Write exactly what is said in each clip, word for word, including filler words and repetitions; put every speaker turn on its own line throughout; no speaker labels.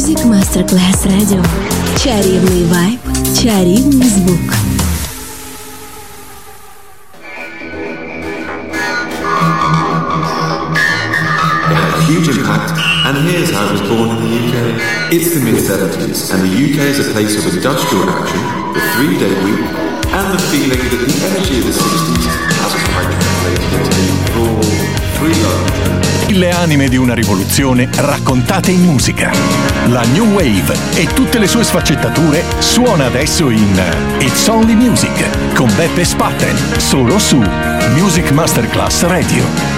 Music Masterclass Radio. Чарівний вайб, чарівний звук.
Huge impact, and here's how it was born in the U K. It's the mid seventies, and the U K is a place of industrial action, the three-day week, and the feeling that the energy of the sixties hasn't quite translated into the full free love.
Le anime di una rivoluzione raccontate in musica. La New Wave e tutte le sue sfaccettature suona adesso in It's Only Music con Beppe Spatten, solo su Music Masterclass Radio.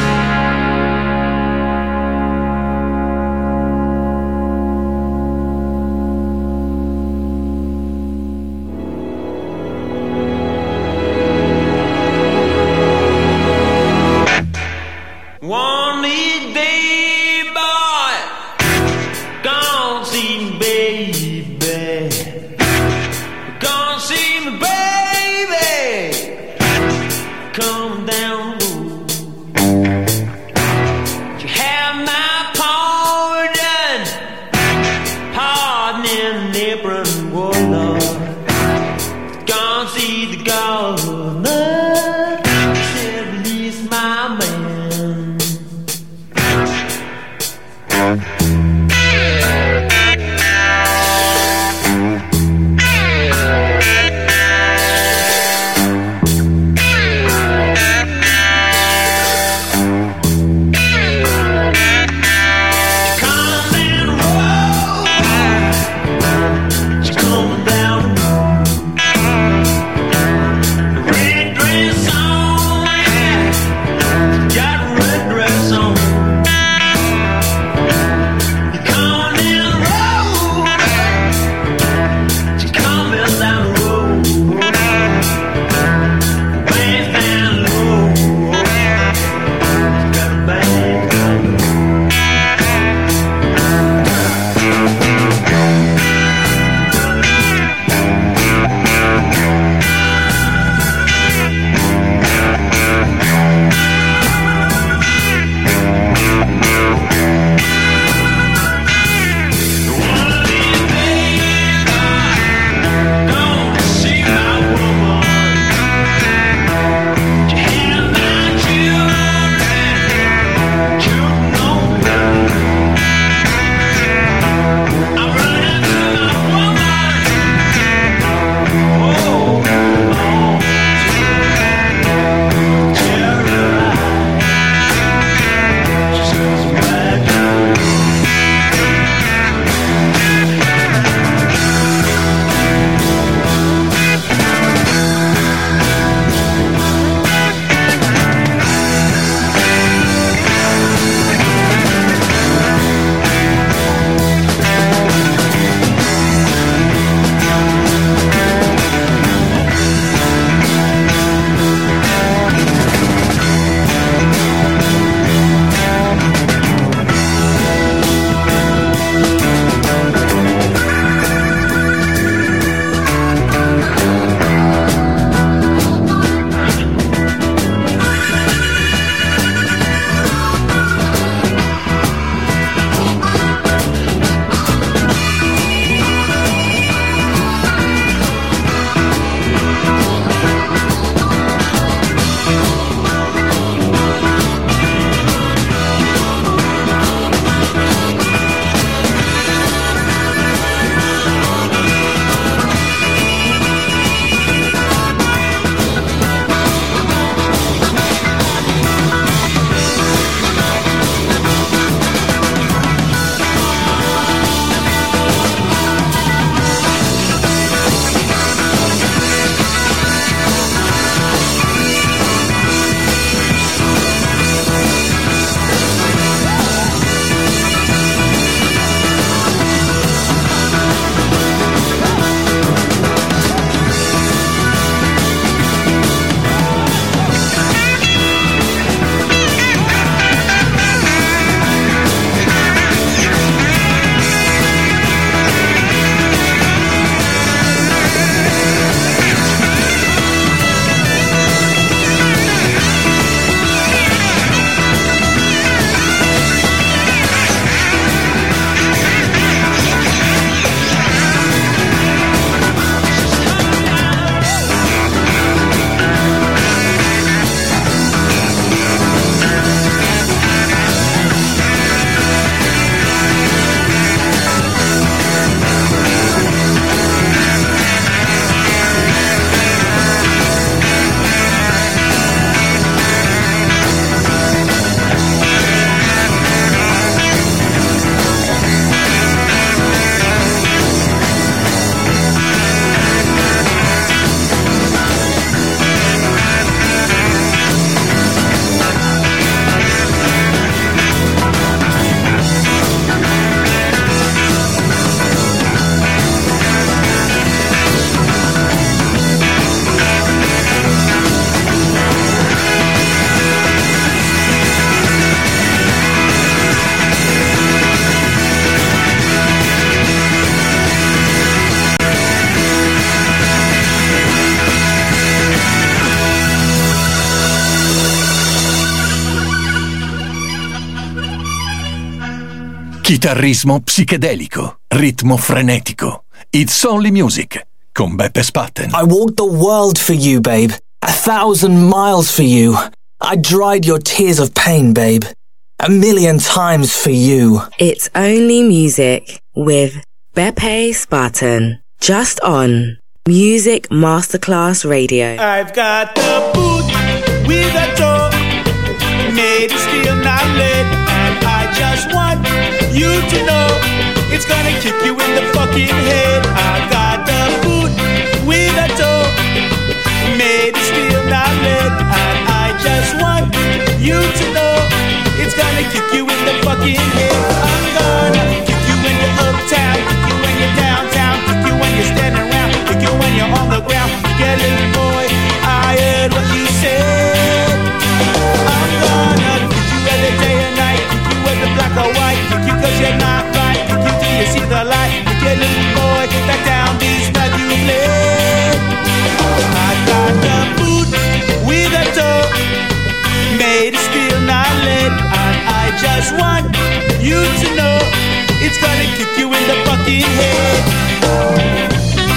Chitarrismo psichedelico, ritmo frenetico. It's Only Music con Beppe Spatten.
I walked the world for you, babe. A thousand miles for you. I dried your tears of pain, babe. A million times for you.
It's Only Music with Beppe Spatten. Just on Music Masterclass Radio.
I've got the boot with a toe, made of steel, not lead, and I just want you to know it's gonna kick you in the fucking head. I've got the boot with a toe, made of steel, not lead, and I just want you to know it's gonna kick you in the fucking head. I'm gonna kick you when you're uptown, kick you when you're downtown, kick you when you're standing around, kick you when you're on the ground. Yeah, little boy, I heard what you said. I'm gonna kick you every day and night, kick you whether black or white, kick you cause you're not right, kick you till you see the light. Yeah, little boy, back down this path you played. I got the boot with a toe, made of steel, not lead, and I just want you to know it's gonna kick you in the fucking head.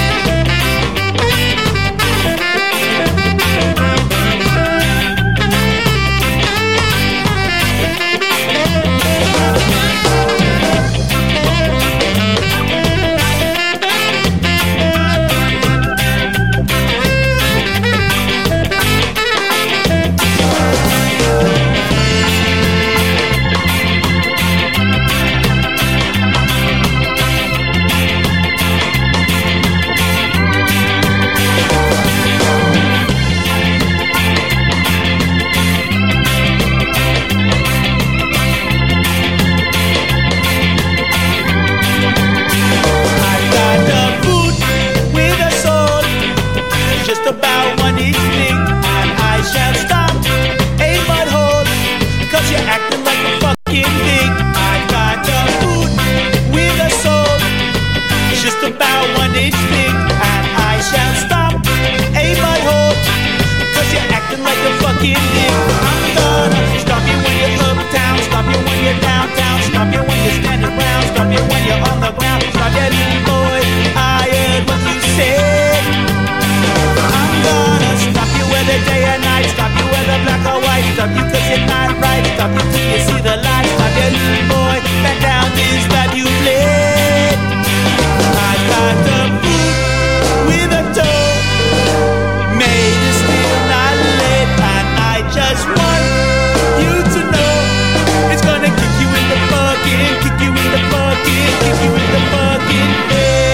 About one each thing, and I shall stop a butthole, cause you're acting like a fucking pig. I got the boot with a soul, it's just about one each thing, and I shall stop a butthole, cause you're acting like a fucking pig. I'm gonna stop you when you're uptown, stop you when you're downtown, stop you when you're standing around, stop you when you're on the ground. Stop you, little boy, I heard what you said. I'm gonna stop you whether day or night, stop you whether black or white, stop you cause you're not right, stop you till you see the light. Stop you, little boy, back down this path you played. I got the boot with a toe, made of steel, not lead, and I just want you to know it's gonna kick you in the fucking, kick you in the fucking, kick you in the fucking head.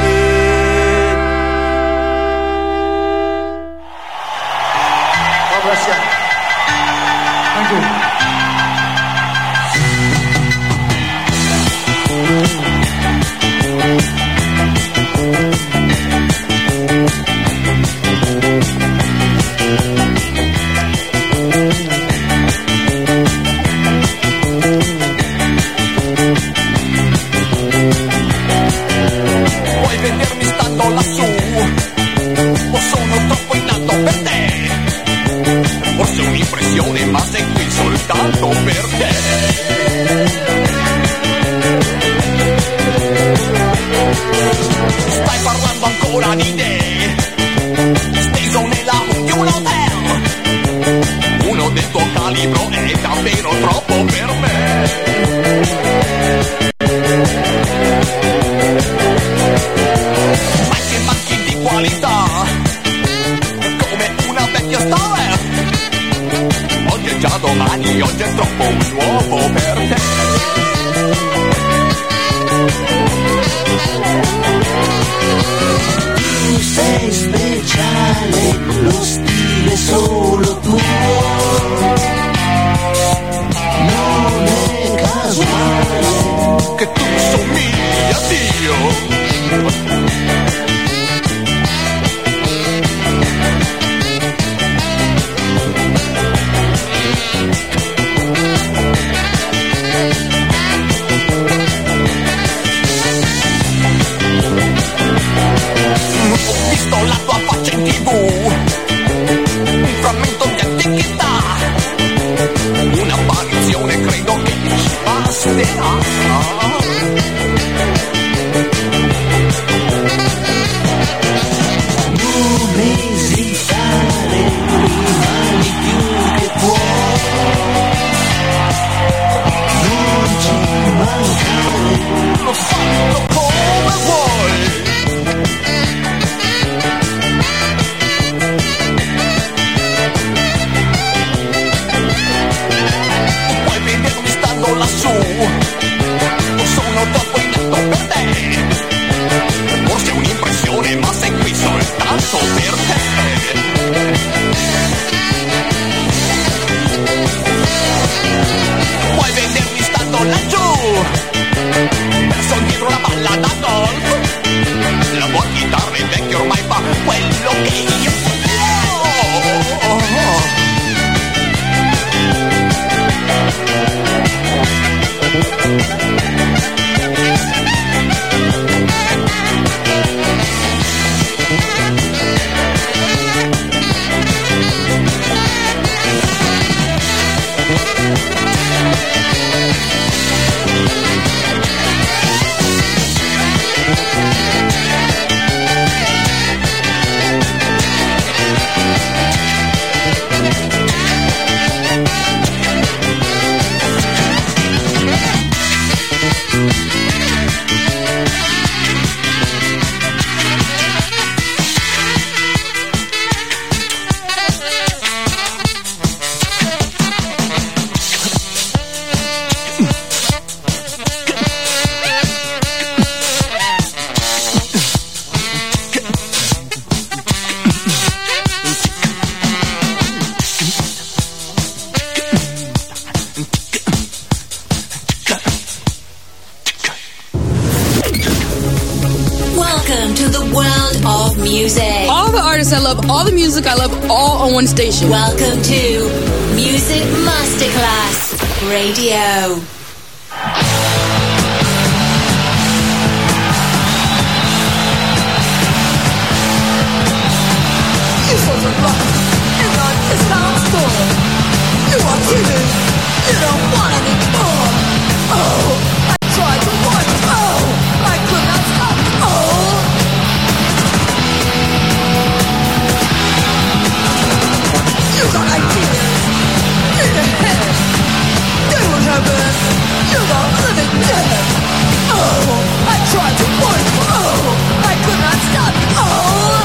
Thank you.
Vuoi vedermi stando lassù? O sono troppo in alto per te? Forse un'impressione, ma sei qui soltanto per te. Stai parlando ancora di te, steso nella home di un hotel. Uno del tuo calibro è davvero troppo per me. Ma che manchi di qualità, come una vecchia star. Oggi è già domani, oggi è troppo nuovo per te.
Tu sei speciale, lo stile solo tuo. Non è casuale
che tu somigli a Dio. Ho visto la tua faccia in tivù, un frammento di antichità, un'apparizione credo che ci basterà.
Welcome to the world of music.
All the artists I love, all the music I love, all on one station.
Welcome to Music Masterclass Radio.
You sort of rock in a discount store. You are cheating, you don't want any more. Oh, I tried to warn you. Oh, I could not stop. Oh, you got ideas in your head. They will happen. You got living dead. Oh, I tried to warn you. Oh, I could not stop. Oh.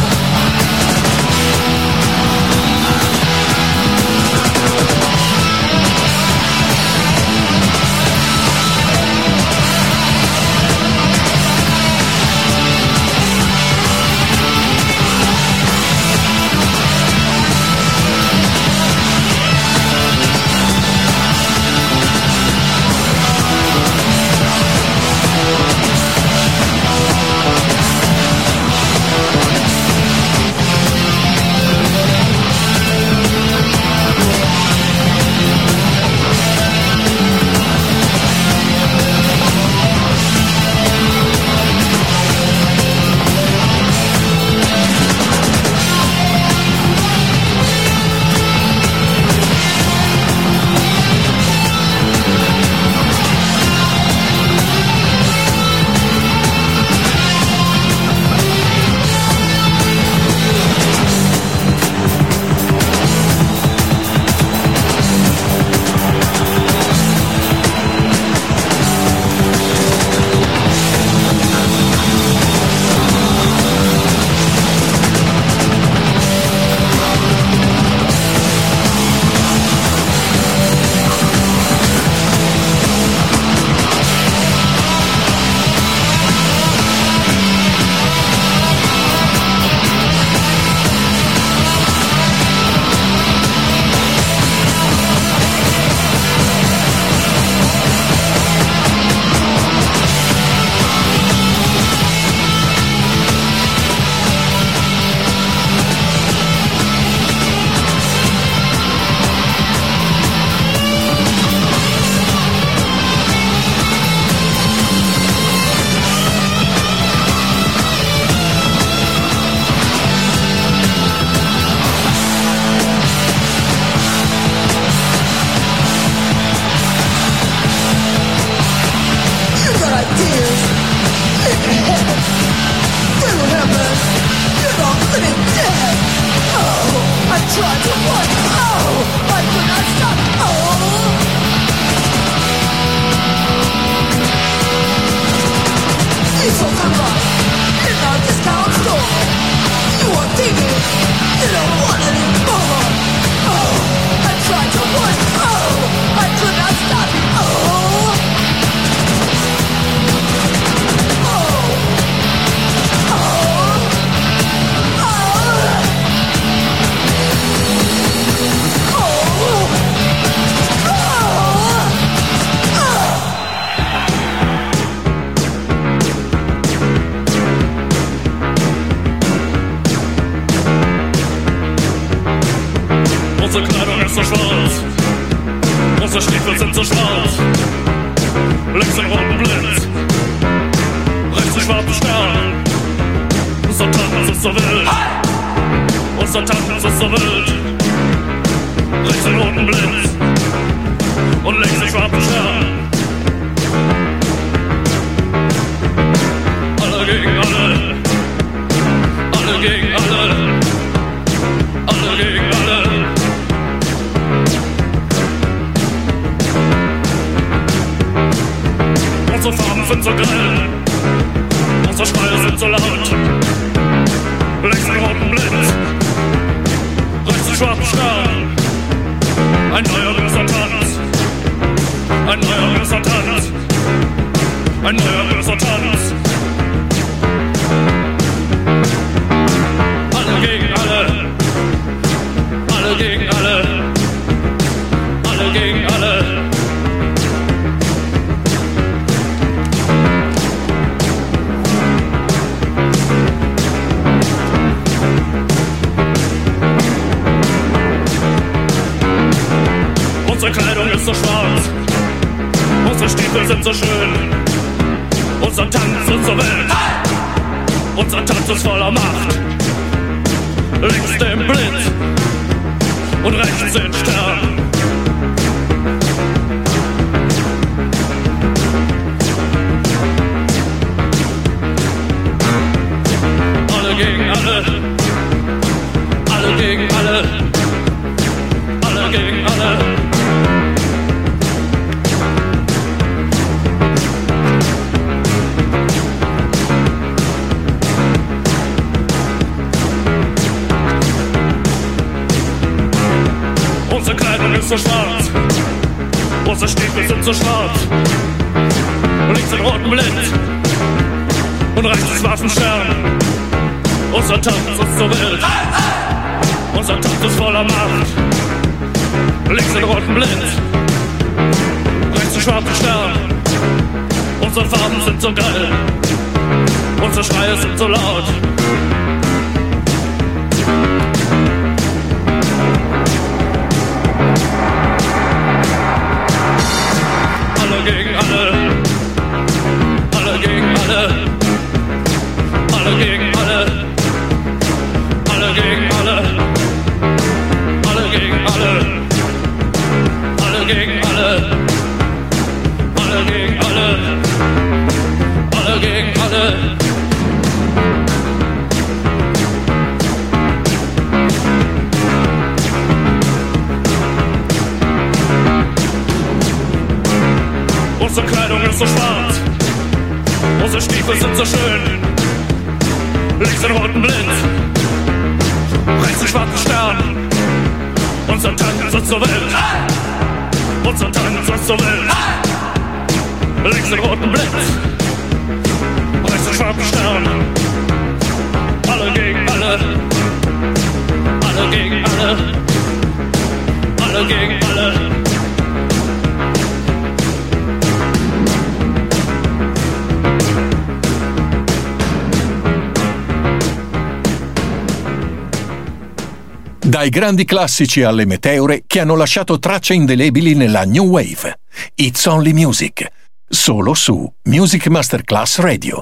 so schön. Unser Tanz ist so wild. Unser Tanz ist voller Macht. Links den Blitz und rechts den Stern. Alle gegen alle. Alle gegen alle. Alle gegen alle. Unsere Kleidung ist so schwarz, unsere Stiefel sind so schwarz. Links den roten Blitz und rechts ist Waffenstern. Unser Tanz ist so wild, unser Tanz ist voller Macht. Links den roten Blitz, rechts den schwarzen Stern. Unsere Farben sind so geil, unsere Schreie sind so laut. Alle gegen alle, alle gegen alle, alle gegen alle, alle gegen alle, alle gegen alle, alle gegen alle, alle gegen alle, alle gegen alle. Unsere Kleidung ist so schwarz, unsere Stiefel sind so schön. Links den roten Blitz, rechts den schwarzen Stern. Unser Tanz ist so wild, unser Tanz ist so wild. Links den roten Blitz, rechts den schwarzen Stern. Alle gegen alle, alle gegen alle, alle gegen alle.
Dai grandi classici alle meteore che hanno lasciato tracce indelebili nella New Wave. It's Only Music. Solo su Music Masterclass Radio.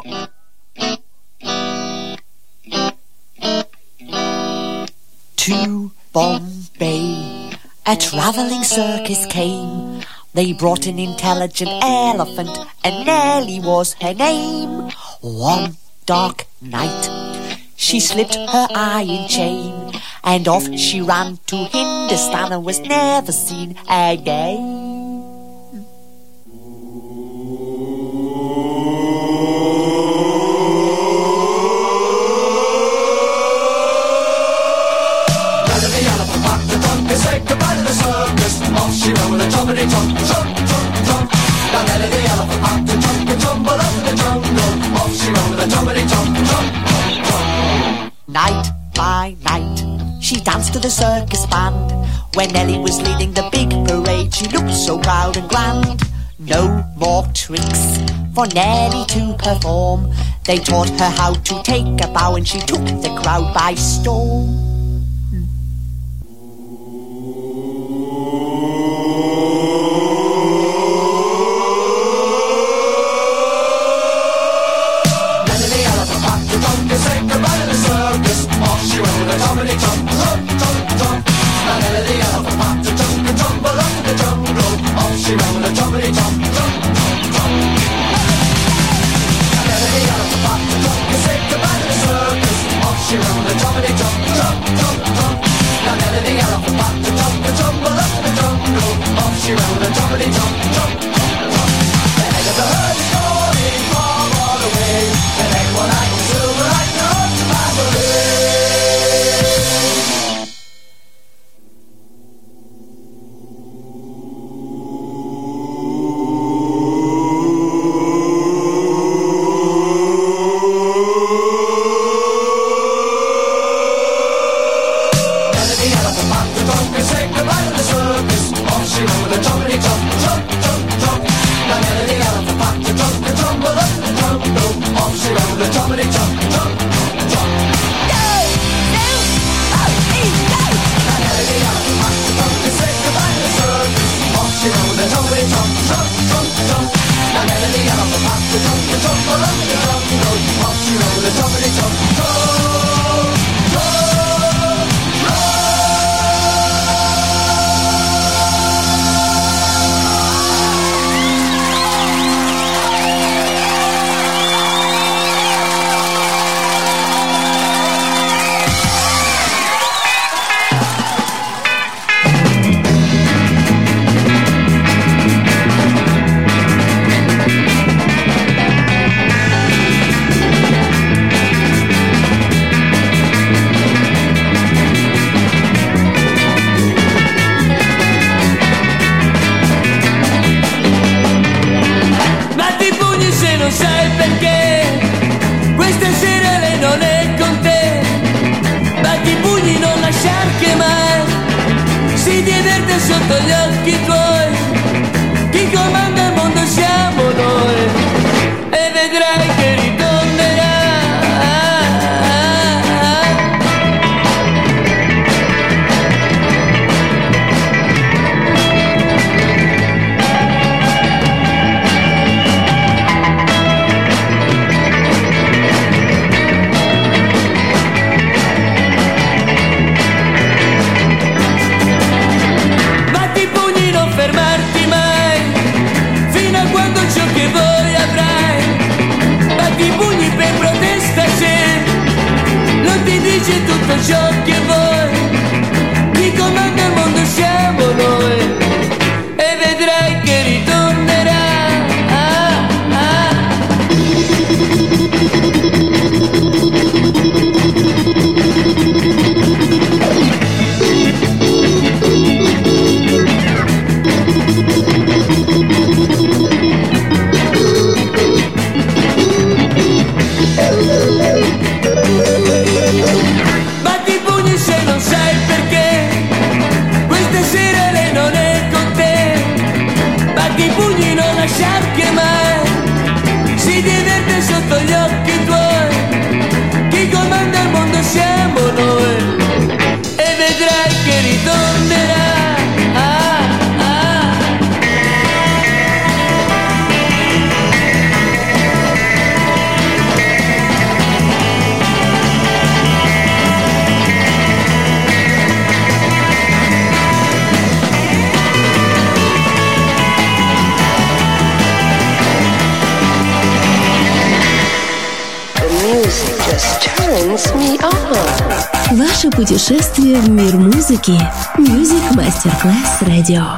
To Bombay, a travelling circus came. They brought an intelligent elephant, and Nellie was her name. One dark night, she slipped her iron chain, and off she ran to Hindustan and was never seen again.
She ran with a jumpity jump, jump, jump, jump. Now Nellie the elephant had to jump and tumble up in the jungle. Off she ran with a jumpity jump, jump, jump, jump.
Night by night, she danced to the circus band. When Nellie was leading the big parade, she looked so proud and grand. No more tricks for Nellie to perform. They taught her how to take a bow, and she took the crowd by storm.
che mai si diverte sotto gli occhi tuoi. Chi comanda il mondo siamo noi, e vedrai che ritornerà. Fermarti mai, fino a quando ciò che vuoi avrai. Batti i pugni per protesta se non ti dice tutto ciò che vuoi. Chi comanda il mondo siamo noi, e vedrai che ritornerà. Ah, ah. Batti i pugni se non sai perché questa sera lei non è con te. Batti i pugni, non lasciar che mai si diverte sotto gli occhi tuoi. Chi comanda il mondo siamo noi, e vedrai che ritornerà.
Ваше путешествие в мир музыки. Music Masterclass Radio.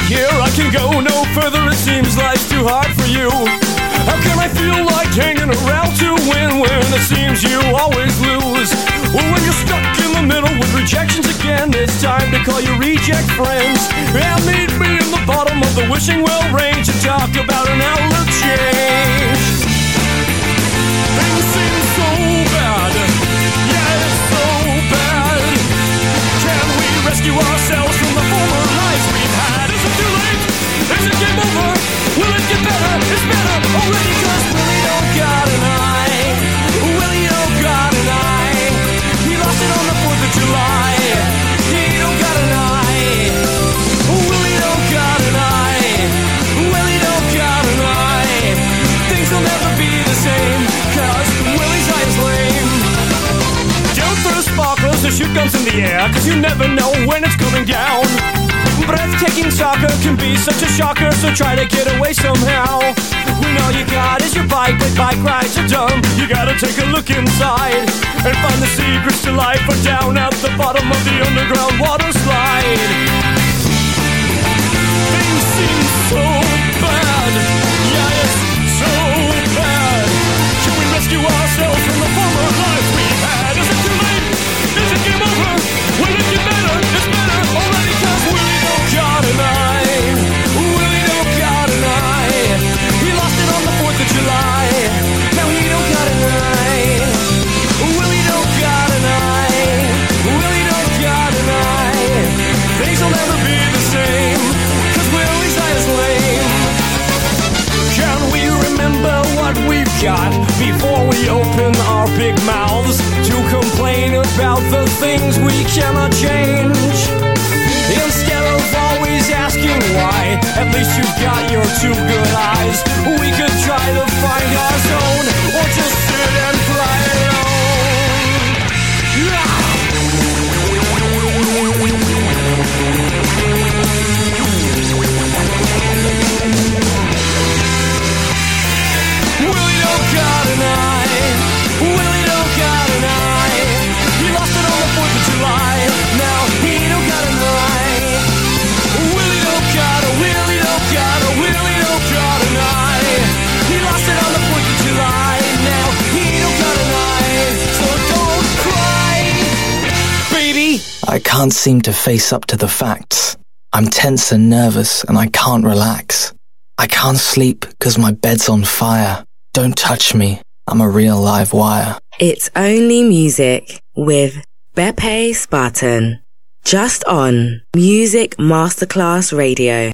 here, I can go no further. It seems life's too hard for you. How can I feel like hanging around to win when it seems you always lose? Well, when you're stuck in the middle with rejections again, it's time to call your reject friends and meet me in the bottom of the wishing well range and talk about an outlook change. Things seem so bad, yeah, it's so bad. Can we rescue ourselves from the former lives we've had? Is it too late? Is it game over? Will it get better? It's better already, cause Willie don't got an eye. Willie don't got an eye. He lost it on the fourth of July. He don't got an eye. Willie don't got an eye. Willie don't got an eye. Things will never be the same, cause Willie's eye is lame. Don't throw sparklers or shoot guns in the air, cause you never know when it's coming down. Breathtaking soccer can be such a shocker, so try to get away somehow. When all you got is your bike, but bike rides are dumb. You gotta take a look inside and find the secrets to life are down at the bottom of the underground water slide. Things seem so bad, yeah, it's so bad. Can we rescue ourselves from the former lives we've had? Is it too late? Is it game over? Will it get better? It's better already, cause Willie don't got an eye. Willie don't got an eye. He lost it on the fourth of July. Now he don't got an eye. Willie don't got an eye. Willie don't got an eye. Things will never be the same, cause Willie's eye is lame. Can we remember what we've got before we open our big mouths to complain about the things we cannot change? Instead of always asking why, at least you've got your two good eyes. We could try to find our zone, or just sit and cry alone. Willie don't got an eye. Willie don't got an eye. He lost it on the fourth of July. Now he don't got an eye. Willie don't got a, Willie don't got a, Willie don't got an eye. He lost it on the fourth of July. Now he don't got an eye. So don't cry, baby.
I can't seem to face up to the facts. I'm tense and nervous and I can't relax. I can't sleep because my bed's on fire. Don't touch me, I'm a real live wire.
It's Only Music with Beppe Spartan. Just on Music Masterclass Radio.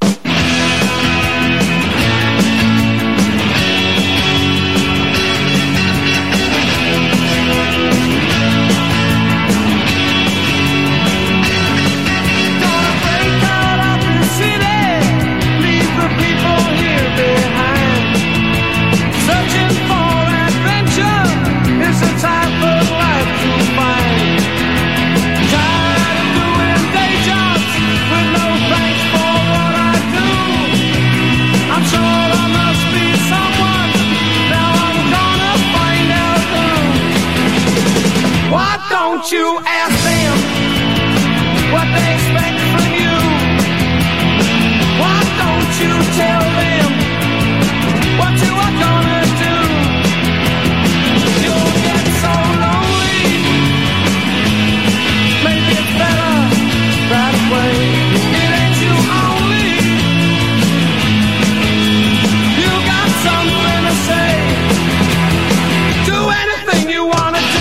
You ask them what they expect from you. Why don't you tell them what you are gonna do? You'll get so lonely. Maybe it's better right away. It ain't you only. You got something to say. Do anything you wanna do.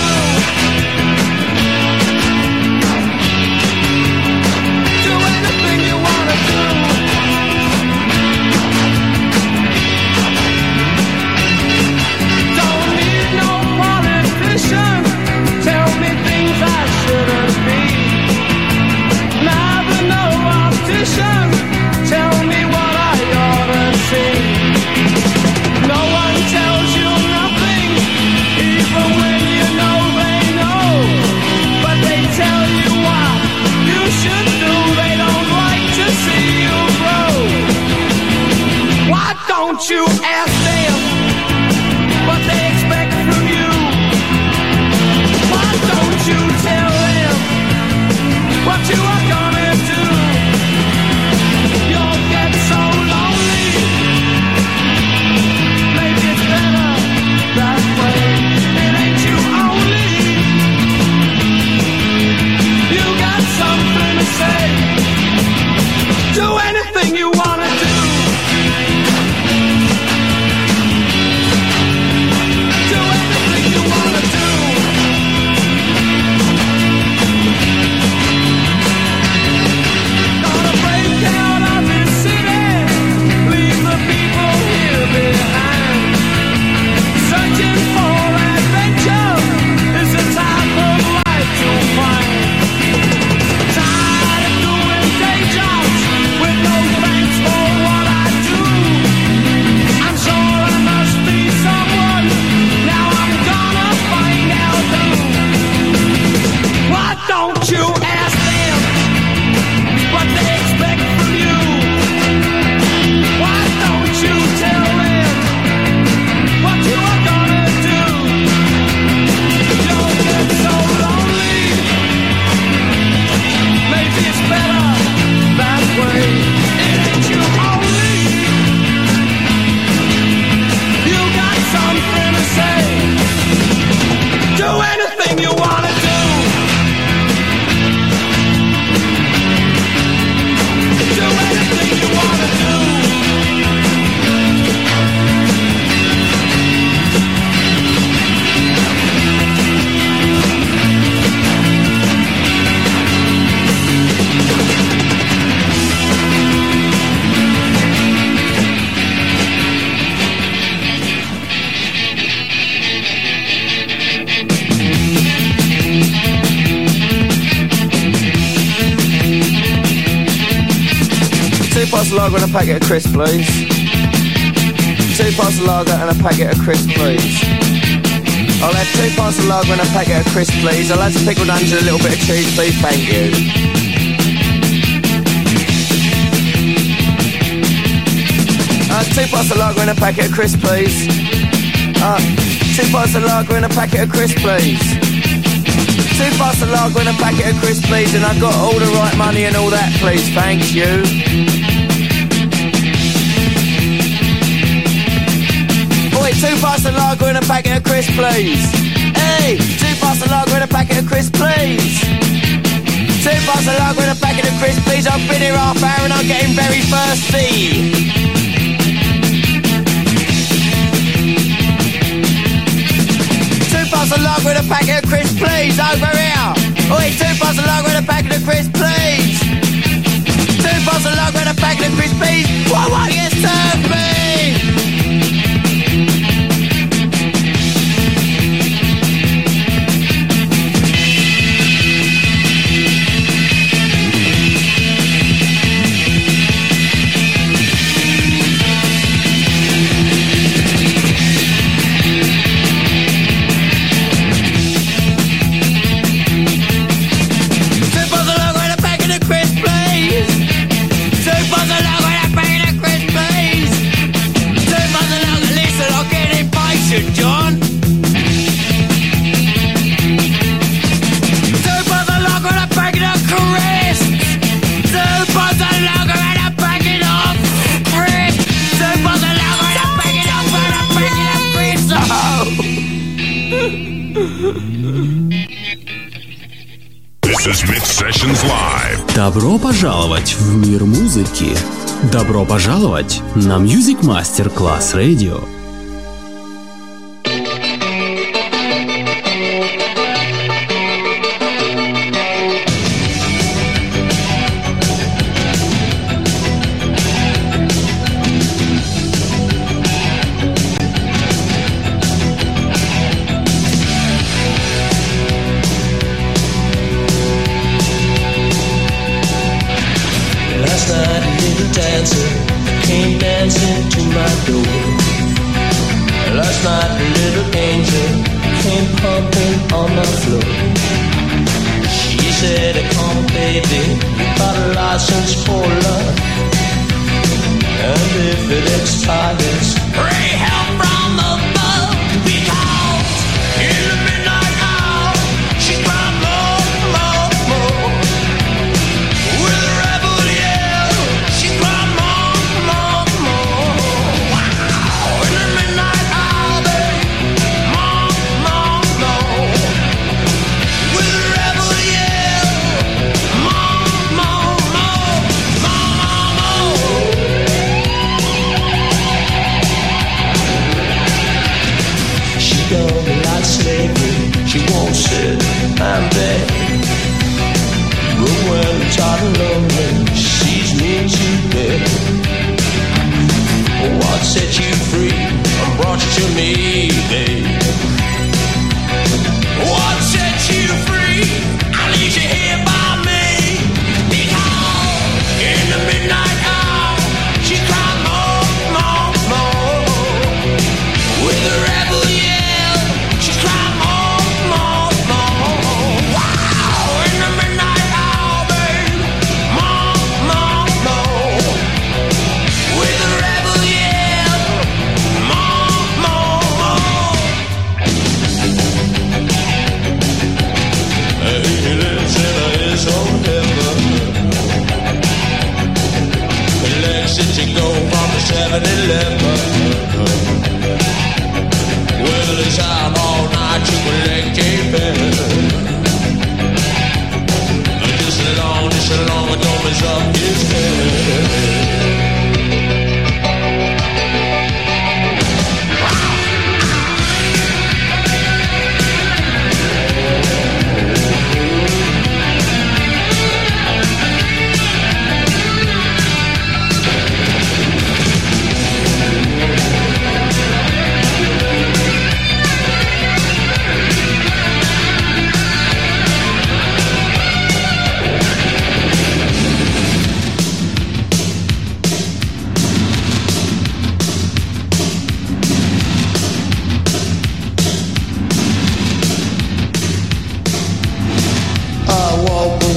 Do anything you wanna do. Do anything you wanna do.
Two pints of lager and a packet of crisps, please. Two pints of lager and a packet of crisps, please. I'll have two pints of lager and a packet of crisps, please. I'll have some pickled onions and a little bit of cheese, please. Thank you. Uh, two pints of lager and a packet of crisps, please. Uh, two pints of lager and a packet of crisps, please. Two pints of lager and a packet of crisps, please. And I've got all the right money and all that, please. Thank you. Oi, two pints of lager and a packet of crisps, please. Hey, two pints of lager and a packet of crisps, please. Two pints of lager and a packet of crisps, please. I've been here half hour and I'm getting very thirsty. Two pints of lager and a packet of crisps, please. Over here. Oi, two pints of lager and a packet of crisps, please. Two pints of lager and a packet of crisps, please. What won't you serve me? John. Two pints of lager and a packet of crisps. Two pints of lager and a packet of crisps. Two pints of lager and a packet of and a packet of crisps. Oh.
This is Mix Sessions Live.
Добро пожаловать в мир музыки. Добро пожаловать на Music Masterclass Radio.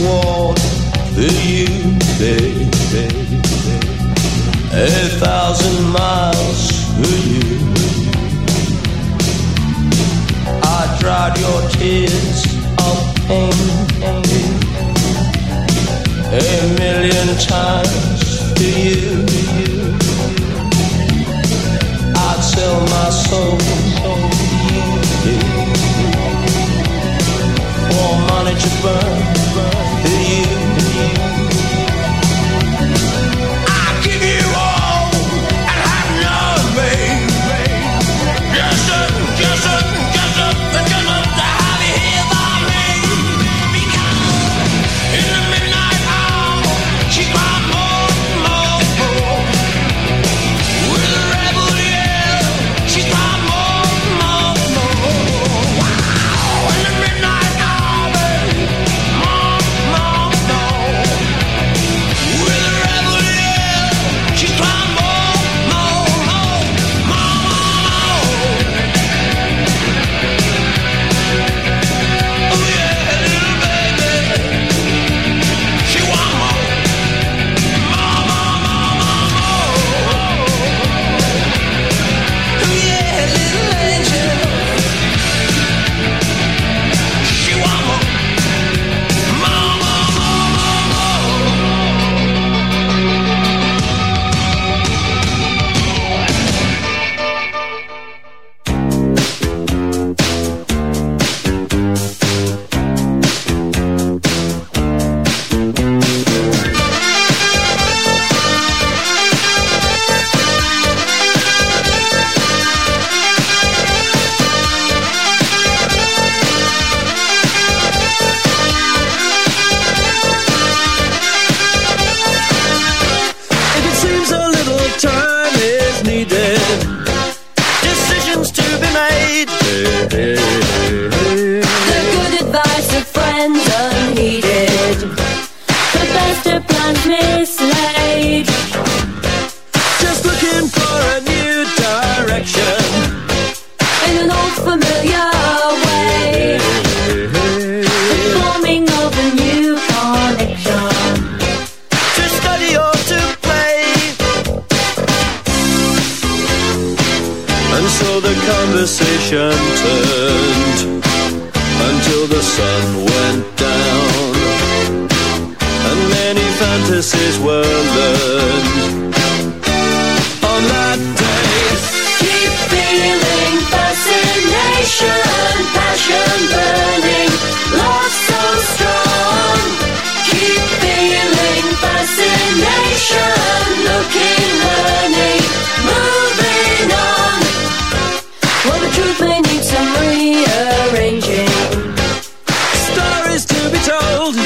walk for you, baby. A thousand miles for you. I dried your tears of pain a million times for you. I'd sell my soul for you. For money to burn for you. I give you all and have nothing. Just a, just a, just a, just a to have you here by me. Because in the midnight hour she cried more, more, more. With a rebel yell she cried more, more, more. Wow, in the midnight hour, baby, more, more, more. With a rebel yell she cried more, more, more, more, more. Oh yeah, little baby, she want more, more, more, more, more, more. Oh yeah, little angel, she want more, more, more, more,
If it seems a little time is needed, decisions to be made.
The good advice of friends unheeded, the best of plans mislaid.
Just looking for a new direction
In an old familiar way, the forming of a new connection.
to study or to play. And so the conversation turned until the sun went down, and many fantasies were learned on that day.
Keep feeling fascination, passion burning, love so strong. Keep feeling fascination, looking, learning, moving on. Well, the truth may need some rearranging.
Stories to be told,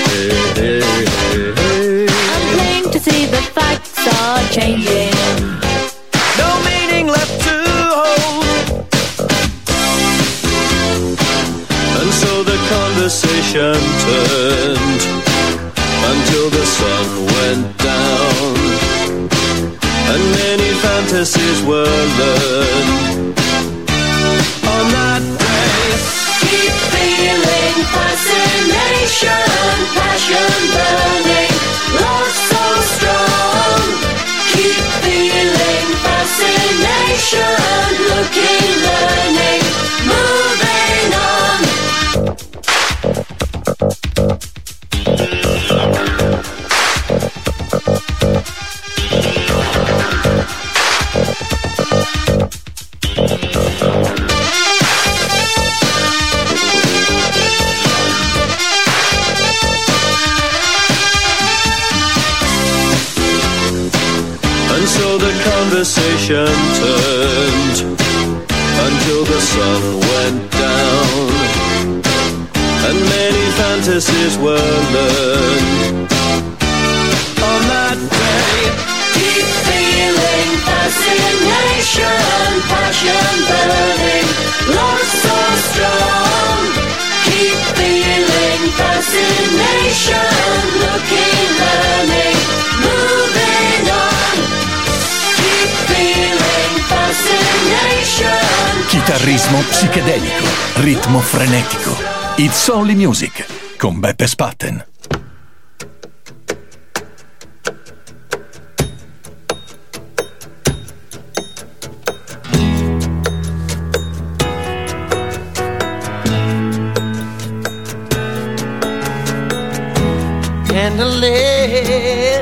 I'm plain to see the facts are changing.
no meaning left to hold. And so the conversation turned until the sun went down, and many fantasies were learned on that day.
Keep feeling fascination, passion burning, love so strong. Keep feeling fascination, looking, learning, moving on.
And so the conversation turned until the sun went down, and many fantasies were learned on that day.
Keep feeling fascination, passion burning, love so strong. Keep feeling fascination, looking, learning, moving on. Keep feeling fascination.
Chitarrismo psichedelico, ritmo frenetico. It's Only Music con Beppe Spatten.
handle it.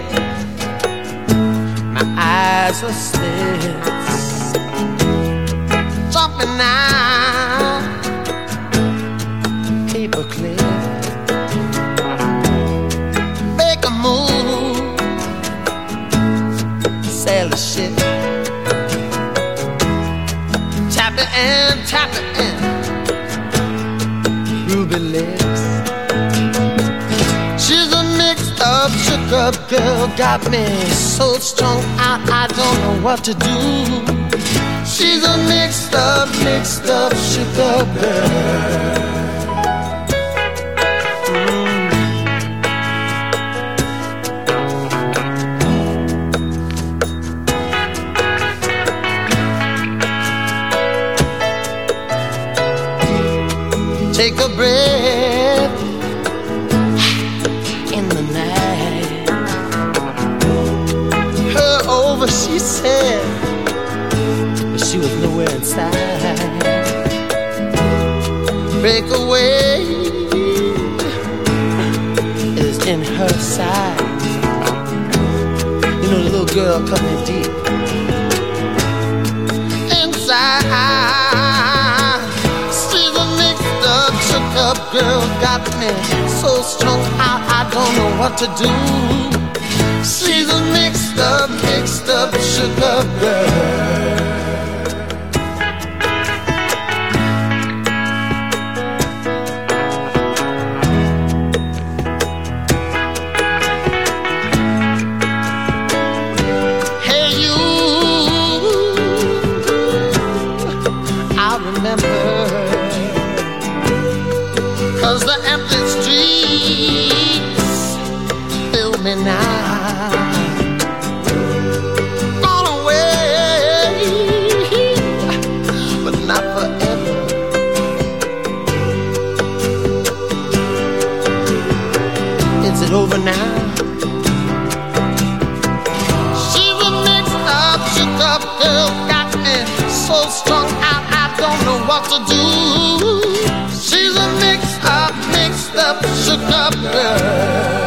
My eyes are slits, jumping out, paper clip. Make a move, sail the ship. Tap it in, tap it in, ruby lips. She's a mixed up, shook up girl, got me so strung out I don't know what to do. She's a mixed up, mixed up, shook up girl. Take a breath in the night. Her over, she said, but she was nowhere inside. Break away is in her side. You know the little girl coming deep inside. Up girl got me so strung out I don't know what to do. She's a mixed up, mixed up, shook up girl. Hey you, I remember, 'cause the empty streets fill me now. Gone away, but not forever. Is it over now? She's a mixed up, shook up girl, got me so strung out I don't know what to do. She's a mixed up, mixed up, shook up girl.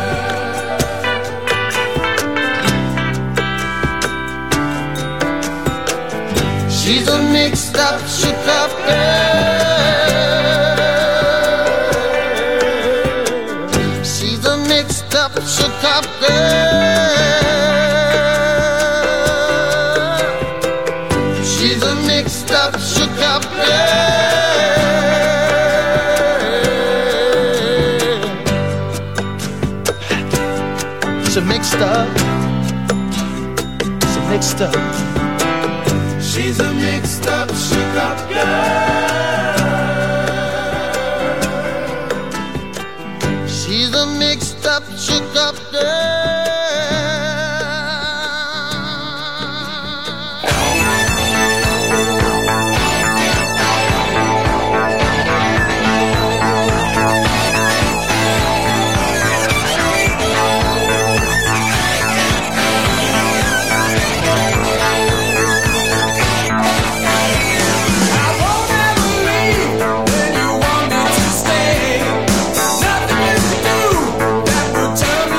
She's a mixed up, shook up girl. She's a mixed up, shook up girl. She's a mixed up, shook up girl. She's mixed up, she's mixed up. She's a mixed up, shook up girl. She's a mixed up, shook up girl.
Turn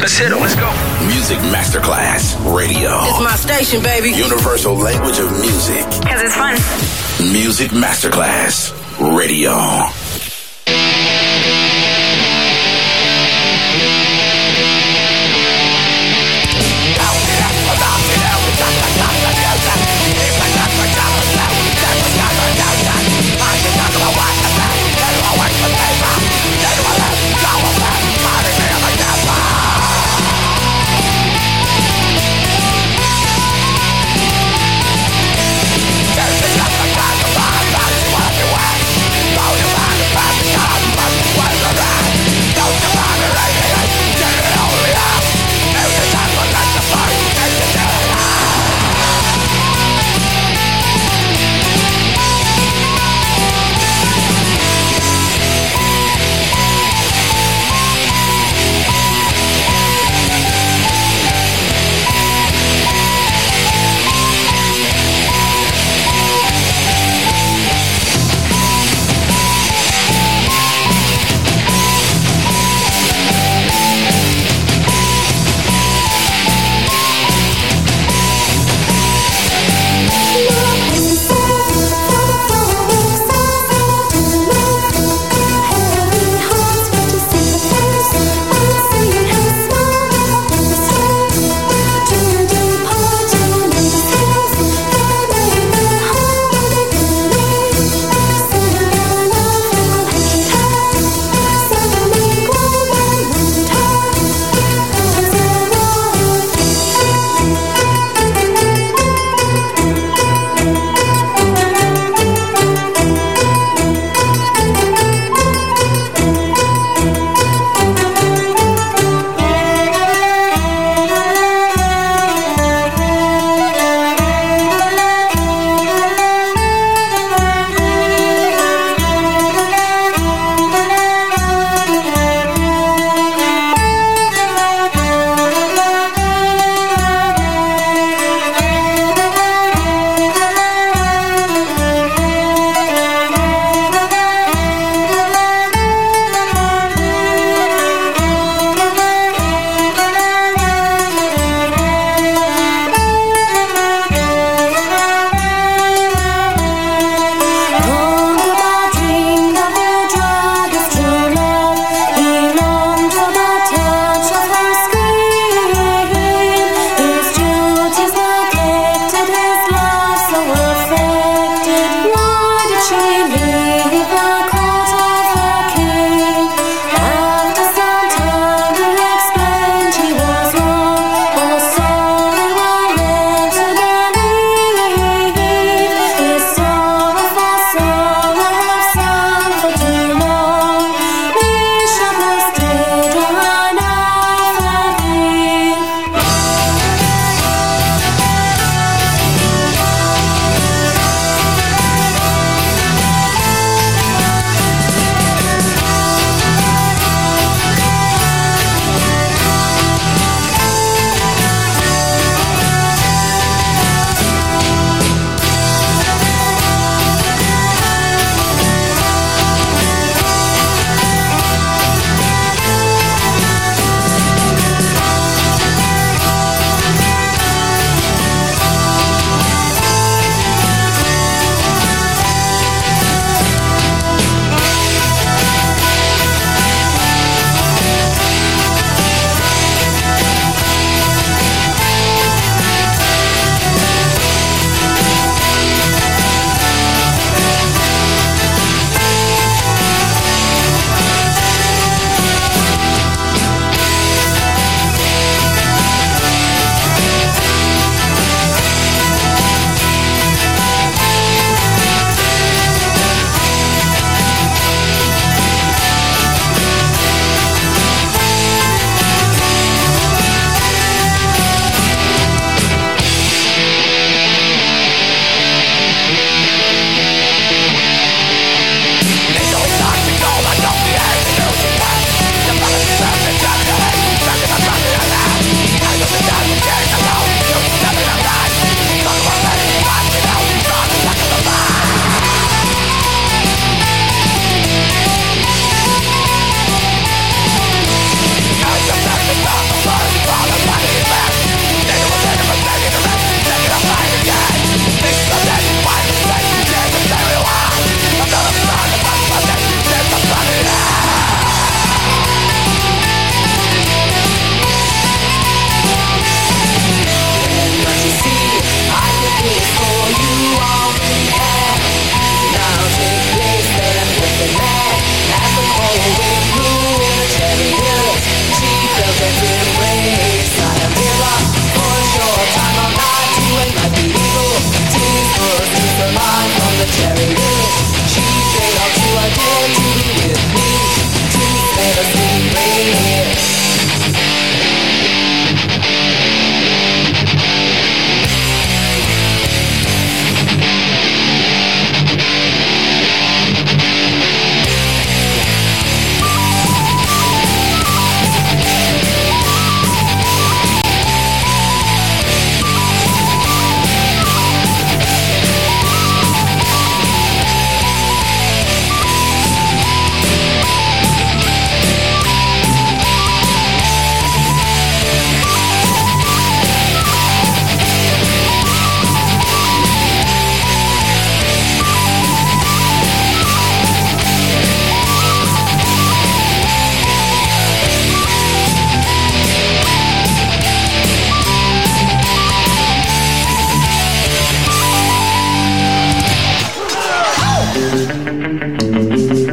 Let's hit 'em. Let's go.
Music Masterclass Radio.
It's my station, baby.
Universal language of music.
Because it's fun.
Music Masterclass Radio.
There's a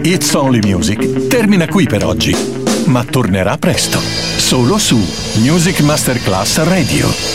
It's Only Music termina qui per oggi, ma tornerà presto, solo su Music Masterclass Radio.